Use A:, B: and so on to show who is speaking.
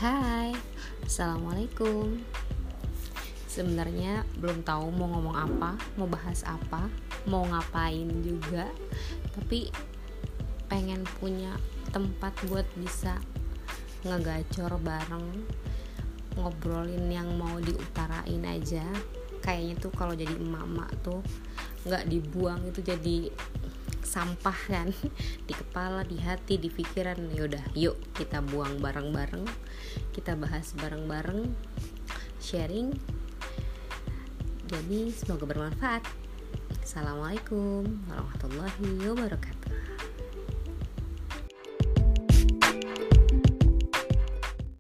A: Hai, Assalamualaikum. Sebenarnya belum tahu mau ngomong apa, mau bahas apa, mau ngapain juga. Tapi pengen punya tempat buat bisa ngegacor bareng, ngobrolin yang mau diutarain aja. Kayaknya tuh kalau jadi emak-emak tuh gak dibuang itu jadi sampah kan di kepala, di hati, di pikiran. Yaudah, yuk kita buang bareng-bareng, kita bahas bareng-bareng, sharing. Jadi semoga bermanfaat. Assalamualaikum warahmatullahi wabarakatuh.